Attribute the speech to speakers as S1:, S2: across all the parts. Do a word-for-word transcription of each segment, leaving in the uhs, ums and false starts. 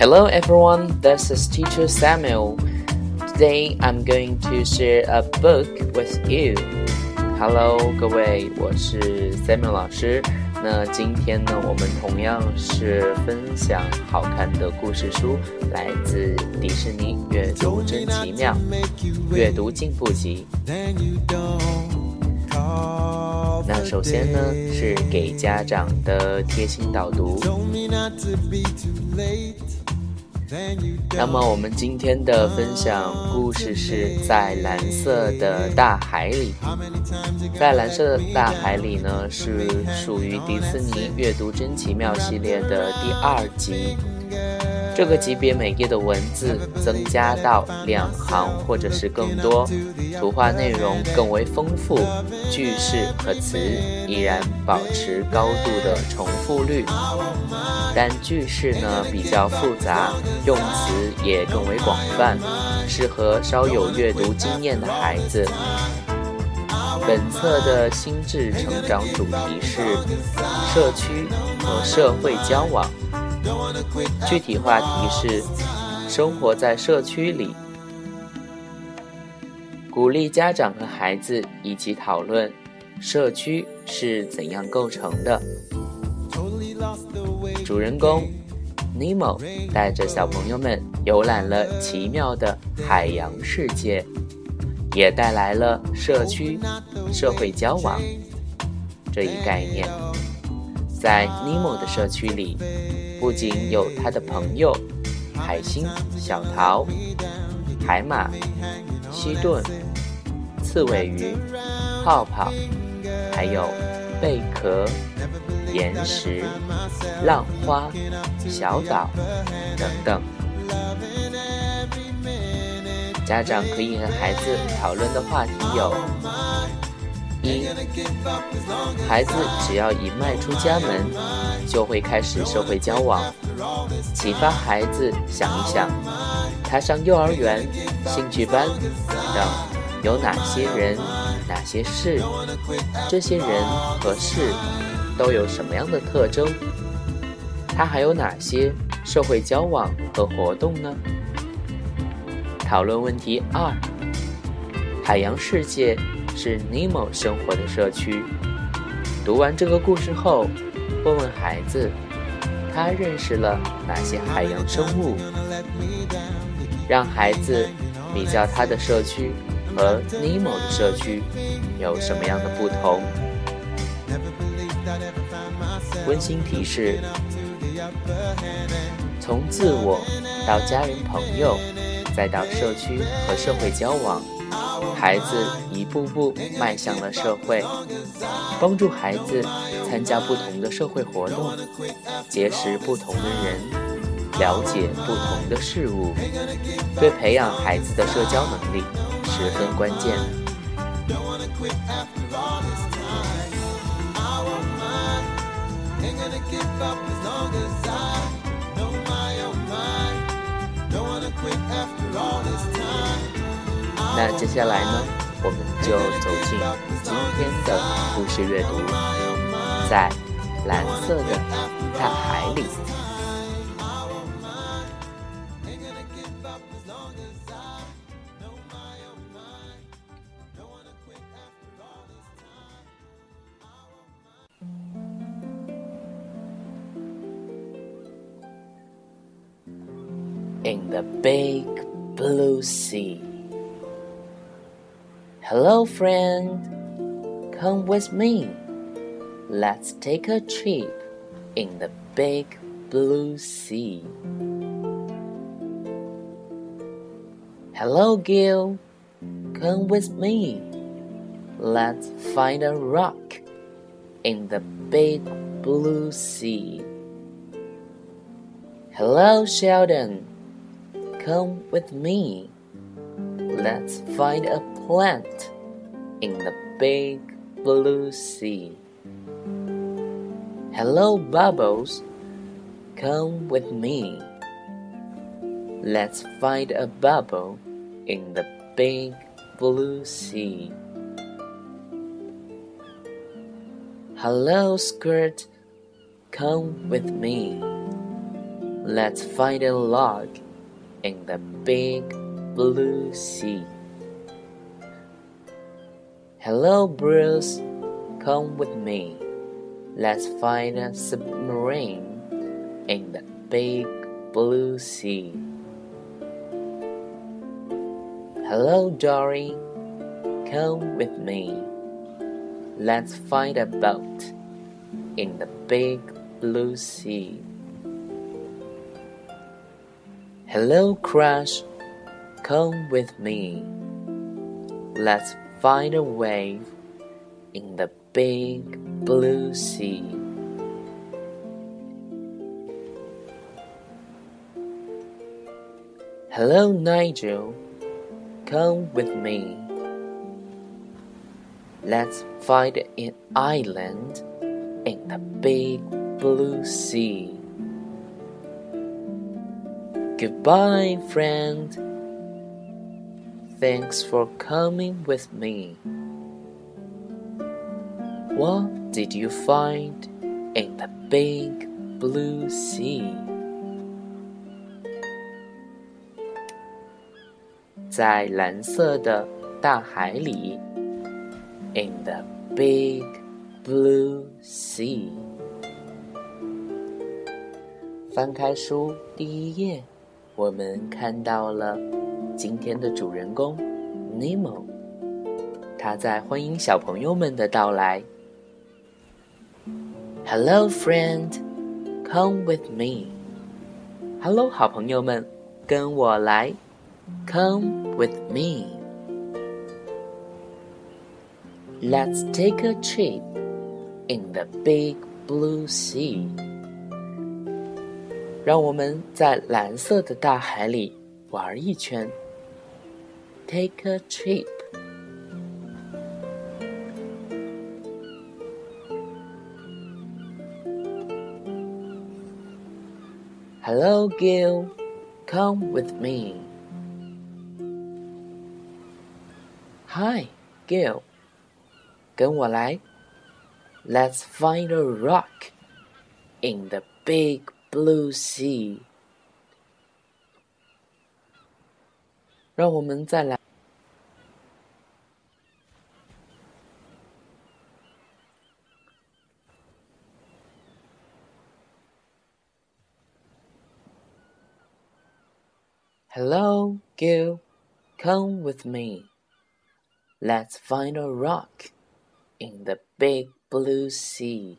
S1: Hello everyone, this is Teacher Samuel. Today I'm going to share a book with you. Hello 各位，我是 Samuel 老师。那今天呢，我们同样是分享好看的故事书，来自迪士尼阅读真奇妙阅读进步集。那首先呢，是给家长的贴心导读。那么我们今天的分享故事是在蓝色的大海里。在蓝色的大海里呢，是属于迪士尼阅读真奇妙系列的第二集。这个级别每页的文字增加到两行或者是更多，图画内容更为丰富，句式和词依然保持高度的重复率，但句式呢比较复杂，用词也更为广泛，适合稍有阅读经验的孩子。本册的心智成长主题是社区和社会交往，具体话题是生活在社区里，鼓励家长和孩子一起讨论社区是怎样构成的。主人公 Nemo 带着小朋友们游览了奇妙的海洋世界，也带来了社区社会交往这一概念。在 Nemo 的社区里，不仅有他的朋友海星、小桃、海马、西顿、刺尾鱼、泡泡，还有贝壳、岩石、浪花、小岛等等。家长可以和孩子讨论的话题有：一，孩子只要一迈出家门，就会开始社会交往，启发孩子想一想，他上幼儿园、兴趣班等有哪些人、哪些事，这些人和事都有什么样的特征，他还有哪些社会交往和活动呢？讨论问题二，海洋世界是 Nemo 生活的社区。读完这个故事后，问问孩子，他认识了哪些海洋生物？让孩子比较他的社区和 Nemo 的社区有什么样的不同？温馨提示：从自我到家人朋友，再到社区和社会交往，孩子一步步迈向了社会，帮助孩子参加不同的社会活动，结识不同的人，了解不同的事物，对培养孩子的社交能力十分关键。那接下来呢，我们就走进今天的故事阅读，在蓝色的大海里。In the big blue sea. Hello, friend. Come with me. Let's take a trip in the big blue sea. Hello, Gil. Come with me. Let's find a rock in the big blue sea. Hello, Sheldon.Come with me. Let's find a plant in the big blue sea. Hello, Bubbles. Come with me. Let's find a bubble in the big blue sea. Hello, Skirt. Come with me. Let's find a log in the big blue sea. Hello, Bruce. Come with me. Let's find a submarine in the big blue sea. Hello, Dory. Come with me. Let's find a boat in the big blue sea. Hello, Crush. Come with me. Let's find a wave in the big blue sea. Hello, Nigel. Come with me. Let's find an island in the big blue sea. Goodbye, friend. Thanks for coming with me. What did you find in the big blue sea? 在蓝色的大海里 In the big blue sea. 翻开书第一页，我们看到了今天的主人公 Nemo， 他在欢迎小朋友们的到来。Hello, friend. Come with me. Hello, 好朋友们，跟我来。Come with me. Let's take a trip in the big blue sea. 让我们在蓝色的大海里玩一圈。Take a trip. Hello, Gil. Come with me. Hi, Gil. 跟我来。Let's find a rock in the big blue sea. 让我们再来。Hello, Gil. Come with me. Let's find a rock in the big blue sea.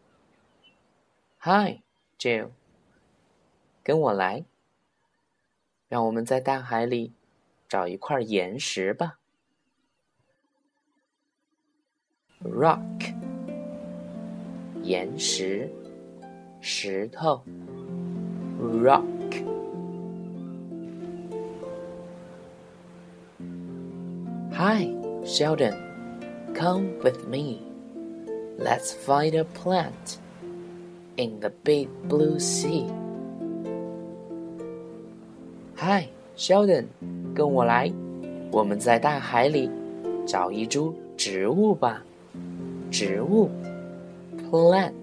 S1: Hi, Jill. 跟我来。让我们在大海里找一块岩石吧。Rock. 岩石，石头。Rock. Hi, Sheldon. Come with me. Let's find a plant in the big blue sea. Hi, Sheldon. 跟我来，我们在大海里找一株植物吧。植物 Plant.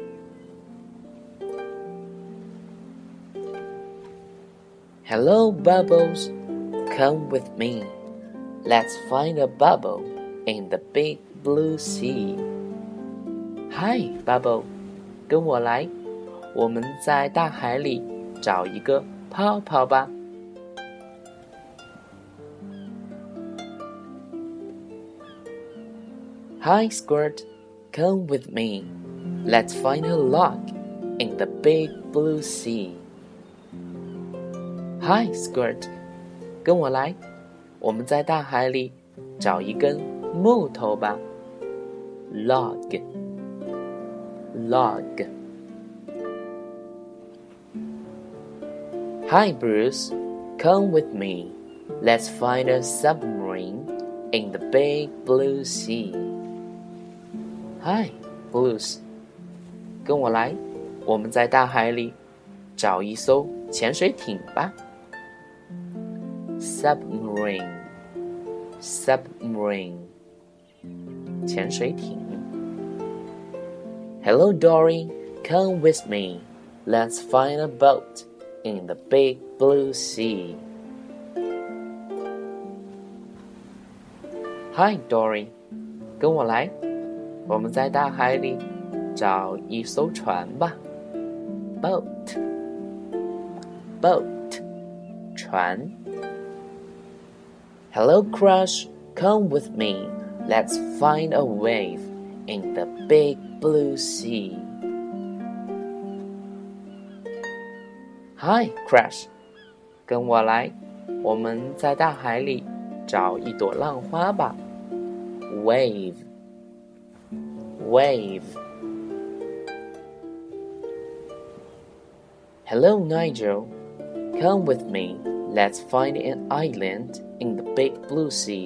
S1: Hello, Bubbles. Come with me. Let's find a bubble in the big blue sea. Hi, Bubble. 跟我来，我们在大海里找一个泡泡吧。Hi, Squirt. Come with me. Let's find a log in the big blue sea. Hi, Squirt. 跟我来，我们在大海里找一根木头吧。Log. Log. Hi, Bruce. Come with me. Let's find a submarine in the big blue sea. Hi, Bruce. 跟我来，我们在大海里找一艘潜水艇吧。Submarine. Submarine. 潜水艇。Hello, Dory. Come with me. Let's find a boat in the big blue sea. Hi, Dory. 跟我来，我们在大海里找一艘船吧。Boat, boat, 船。Hello, Crush, come with me. Let's find a wave in the big blue sea. Hi, Crush, 跟我来，我们在大海里找一朵浪花吧。Wave, wave. Hello, Nigel. Come with me. Let's find an island in the big blue sea.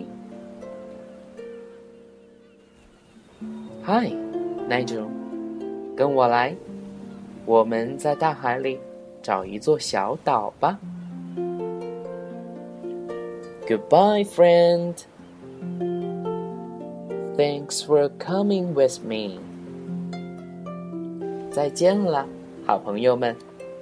S1: Hi, Nigel. 跟我来，我们在大海里找一座小岛吧。Goodbye, friend. Thanks for coming with me. 再见了，好朋友们。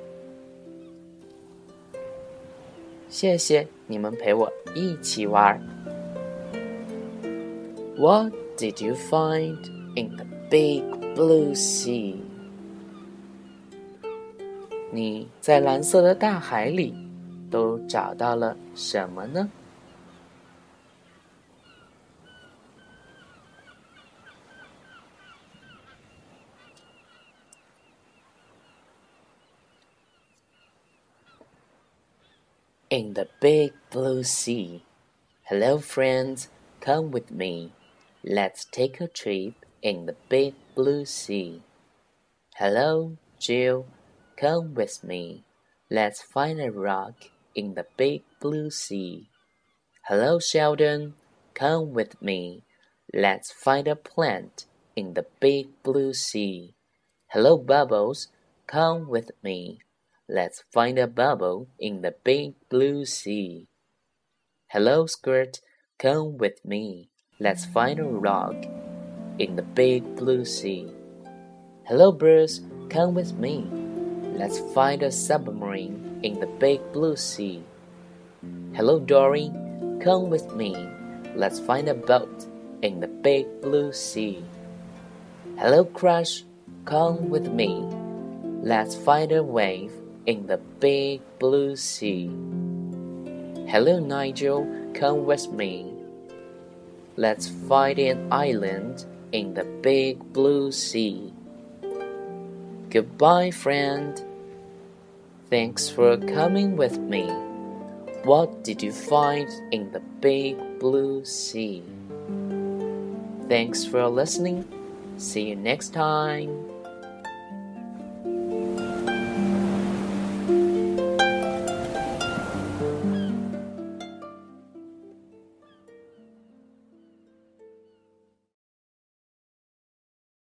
S1: 谢谢你们陪我一起玩。What did you find in the big blue sea? 你在蓝色的大海里都找到了什么呢？In the big blue sea. Hello, friends. Come with me. Let's take a trip in the big blue sea. Hello, Jill. Come with me. Let's find a rock in the big blue sea. Hello, Sheldon. Come with me. Let's find a plant in the big blue sea. Hello, Bubbles. Come with me.Let's find a bubble in the big blue sea. Hello, Skirt. Come with me. Let's find a rock in the big blue sea. Hello, Bruce. Come with me. Let's find a submarine in the big blue sea. Hello, Dory. Come with me. Let's find a boat in the big blue sea. Hello, Crush. Come with me. Let's find a wave.In the big blue sea. Hello, Nigel. Come with me. Let's find an island in the big blue sea. Goodbye, friend. Thanks for coming with me. What did you find in the big blue sea? Thanks for listening. See you next time.